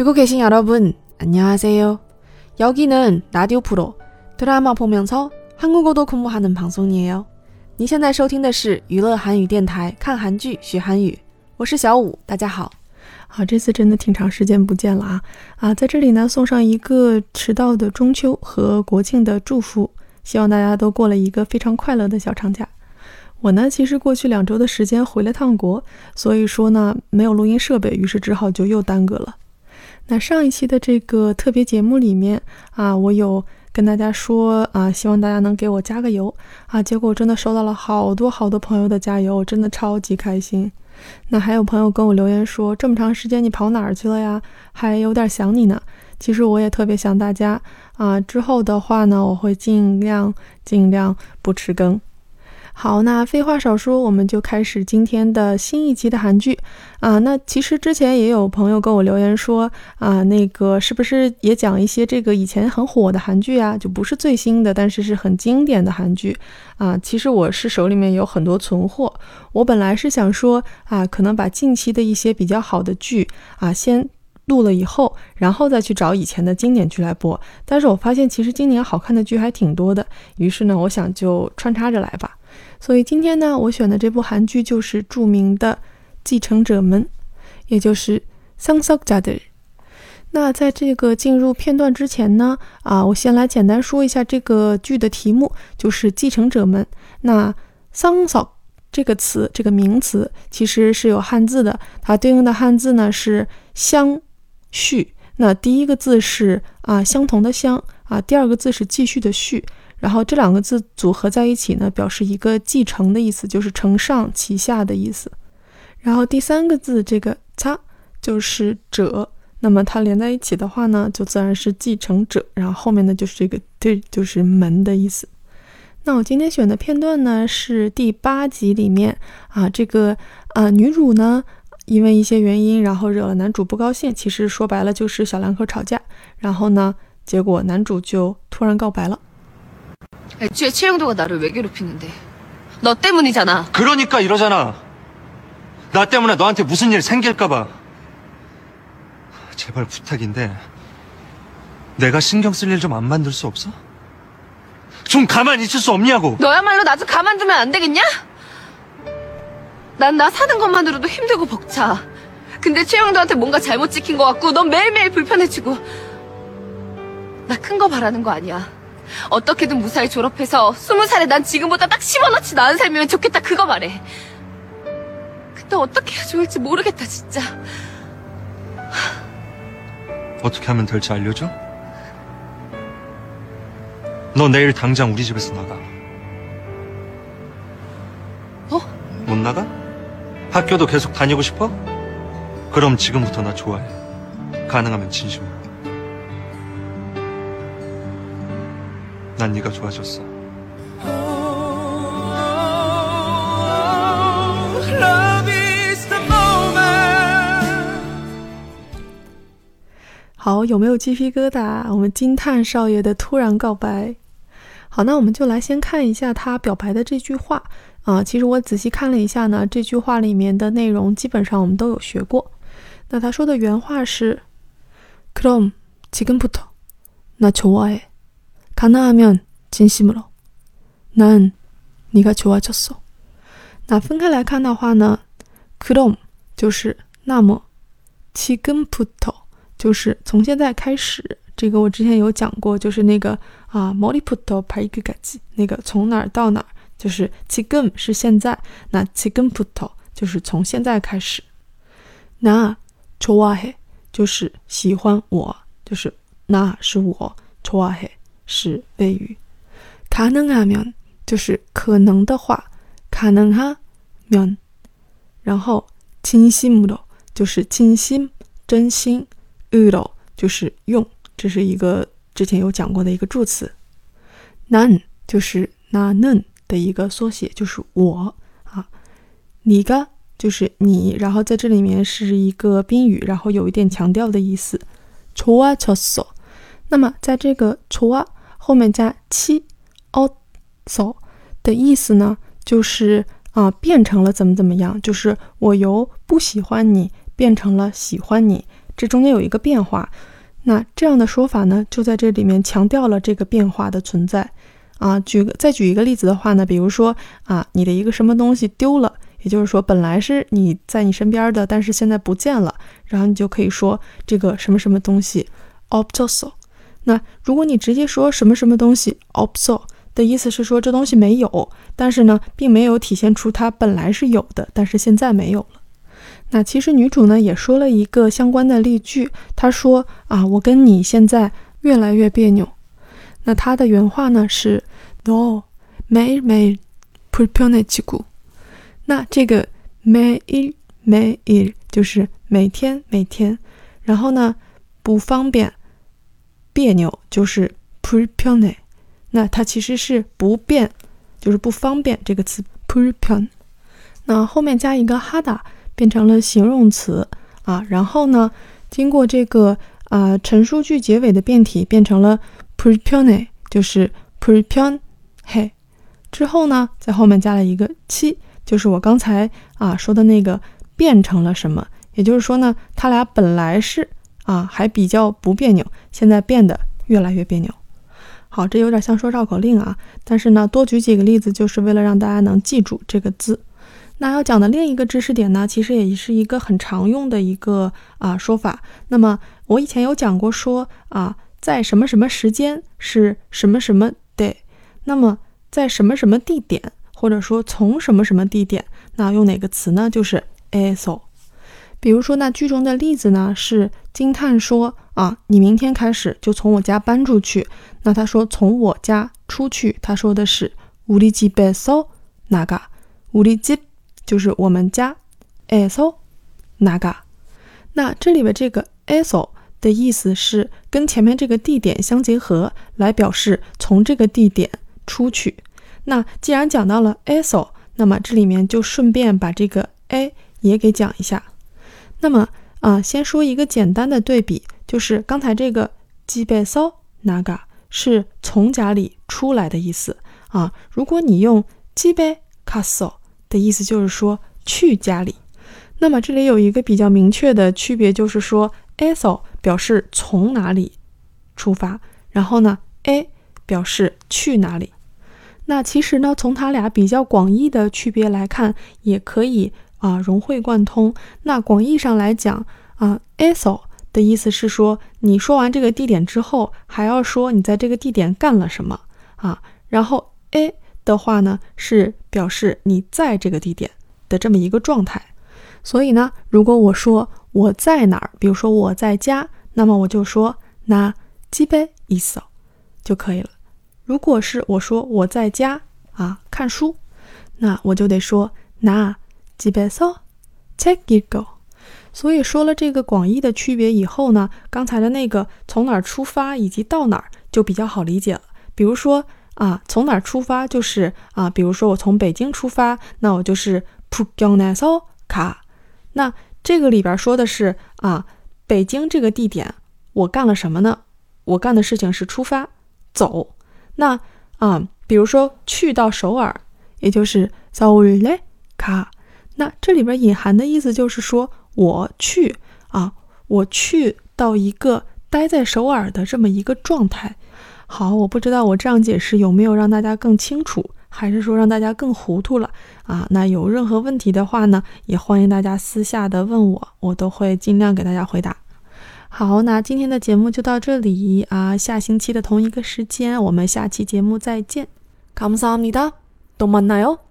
듣고 계신 여러분, 안녕하세요. 여기는 라디오 프로 드라마 보면서 한국어도 공부하는 방송이에요. 你现在收听的是娱乐韩语电台，看韩剧学韩语。我是小五，大家好。这次真的挺长时间不见了在这里呢，送上一个迟到的中秋和国庆的祝福，希望大家都过了一个非常快乐的小长假。我呢，其实过去2周的时间回了趟国，所以说呢，没有录音设备，于是只好就又耽搁了。那上一期的这个特别节目里面我有跟大家说希望大家能给我加个油结果真的收到了好多朋友的加油，真的超级开心。那还有朋友跟我留言说，这么长时间你跑哪儿去了呀？还有点想你呢。其实我也特别想大家之后的话呢，我会尽量不迟更。好，那废话少说，我们就开始今天的新一期的韩剧那其实之前也有朋友跟我留言说那个是不是也讲一些这个以前很火的韩剧就不是最新的，但是是很经典的韩剧其实我是手里面有很多存货，我本来是想说可能把近期的一些比较好的剧先录了以后，然后再去找以前的经典剧来播，但是我发现其实今年好看的剧还挺多的，于是呢我想就穿插着来吧。所以今天呢，我选的这部韩剧就是著名的继承者们，也就是상속자들。那在这个进入片段之前呢我先来简单说一下这个剧的题目，就是继承者们。那상속这个词，这个名词其实是有汉字的，它对应的汉字呢是相续。那第一个字是相同的相第二个字是继续的续，然后这两个字组合在一起呢，表示一个继承的意思，就是承上启下的意思。然后第三个字这个자就是者，那么它连在一起的话呢，就自然是继承者，然后后面呢就是这个들就是门的意思。那我今天选的片段呢是第8集里面这个女主呢因为一些原因，然后惹了男主不高兴，其实说白了就是小两口吵架，然后呢结果男主就突然告白了。 애초에 최영도가 나를 왜 괴롭히는데? 너 때문이잖아. 그러니까 이러잖아. 나 때문에 너한테 무슨 일 생길까봐. 제발 부탁인데 내가 신경 쓸 일 좀 안 만들 수 없어? 좀 가만히 있을 수 없냐고. 너야말로 나 좀 가만두면 안 되겠냐? 난 나 사는 것만으로도 힘들고 벅차. 근데 최영도한테 뭔가 잘못 찍힌 것 같고 넌 매일매일 불편해지고. 나 큰 거 바라는 거 아니야. 어떻게든 무사히 졸업해서 20살에 난 지금보다 딱 10원어치 나은 삶이면 좋겠다, 그거 말해. 근데 어떻게 해야 좋을지 모르겠다, 진짜. 어떻게 하면 될지 알려줘? 너 내일 당장 우리 집에서 나가. 못 나가? 학교도 계속 다니고 싶어? 그럼 지금부터 나 좋아해. 가능하면 진심으로. 난 네가 좋아졌어. 好，有没有鸡皮疙瘩？我们惊叹少爷的突然告白。好，那我们就来先看一下他表白的这句话其实我仔细看了一下呢，这句话里面的内容基本上我们都有学过。那他说的原话是 그럼 지금부터 나 좋아해. 가능하면 진심으로. 난 네가 좋아졌어. 那分开来看的话呢 그럼 就是那么 지금부터 就是从现在开始，这个我之前有讲过，就是那个머리부터 발끝까지 那个从哪儿到哪儿，就是지금是现在，那지금부터就是从现在开始。나 좋아해就是喜欢我，就是나是我，좋아해是谓语。가능하면就是可能的话，가능하면，然后진심으로就是진심真心，으로就是用，这是一个之前有讲过的一个助词。난就是나는的一个缩写，就是我네가就是你，然后在这里面是一个宾语，然后有一点强调的意思。좋아졌어，那么在这个좋아后面加치었어的意思呢，就是变成了怎么样，就是我由不喜欢你变成了喜欢你， 这中间有一个变化。那这样的说法呢，就在这里面强调了这个变化的存在再举一个例子的话呢，比如说你的一个什么东西丢了，也就是说本来是你在你身边的，但是现在不见了，然后你就可以说这个什么什么东西 없었어。 那如果你直接说什么什么东西 없어的意思是说这东西没有，但是呢并没有体现出它本来是有的，但是现在没有了。那其实女主呢也说了一个相关的例句，她说我跟你现在越来越别扭。那她的原话呢是 너 매일매일 불편해지고。 那这个매일就是每天每天，然后呢不方便别扭就是 불편해。 那它其实是不便，就是不方便这个词 불편。 那后面加一个하다变成了形容词然后呢经过这个陈述句结尾的变体变成了 불편해， 就是 불편해。 之后呢在后面加了一个치，就是我刚才说的那个变成了什么，也就是说呢他俩本来是还比较不别扭，现在变得越来越别扭。好，这有点像说绕口令但是呢多举几个例子就是为了让大家能记住这个字。那要讲的另一个知识点呢，其实也是一个很常用的一个说法。那么我以前有讲过说在什么什么时间是什么什么的，那么在什么什么地点，或者说从什么什么地点，那用哪个词呢？就是 eso。 比如说那句中的例子呢是金叹说你明天开始就从我家搬出去。那他说从我家出去，他说的是우리 집에서 나가。 우리 집就是我们家 에서 나가。 那这里边这个 eso 的意思是跟前面这个地点相结合，来表示从这个地点出去。那既然讲到了 eso， 那么这里面就顺便把这个 a 也给讲一下。那么先说一个简单的对比，就是刚才这个집에서 나가是从家里出来的意思如果你用집에 갔어的意思就是说去家里。那么这里有一个比较明确的区别，就是说 eso 表示从哪里出发，然后呢 a 表示去哪里。那其实呢从它俩比较广义的区别来看，也可以融会贯通。那广义上来讲eso 的意思是说你说完这个地点之后还要说你在这个地点干了什么然后 a 的话呢是表示你在这个地点的这么一个状态。所以呢如果我说我在哪儿，比如说我在家，那么我就说나 집에 있어就可以了。如果是我说我在家看书，那我就得说나 집에서 책 읽어。 所以说了这个广义的区别以后呢，刚才的那个从哪儿出发以及到哪儿就比较好理解了。比如说从哪儿出发就是比如说我从北京出发，那我就是북경에서 가。 那这个里边说的是北京这个地点我干了什么呢？我干的事情是出发走。那比如说去到首尔，也就是서울에 가。 那这里边隐含的意思就是说我去到一个待在首尔的这么一个状态。好，我不知道我这样解释有没有让大家更清楚，还是说让大家更糊涂了那有任何问题的话呢，也欢迎大家私下的问我，我都会尽量给大家回答。好，那今天的节目就到这里下星期的同一个时间我们下期节目再见。감사합니다。또 만나요。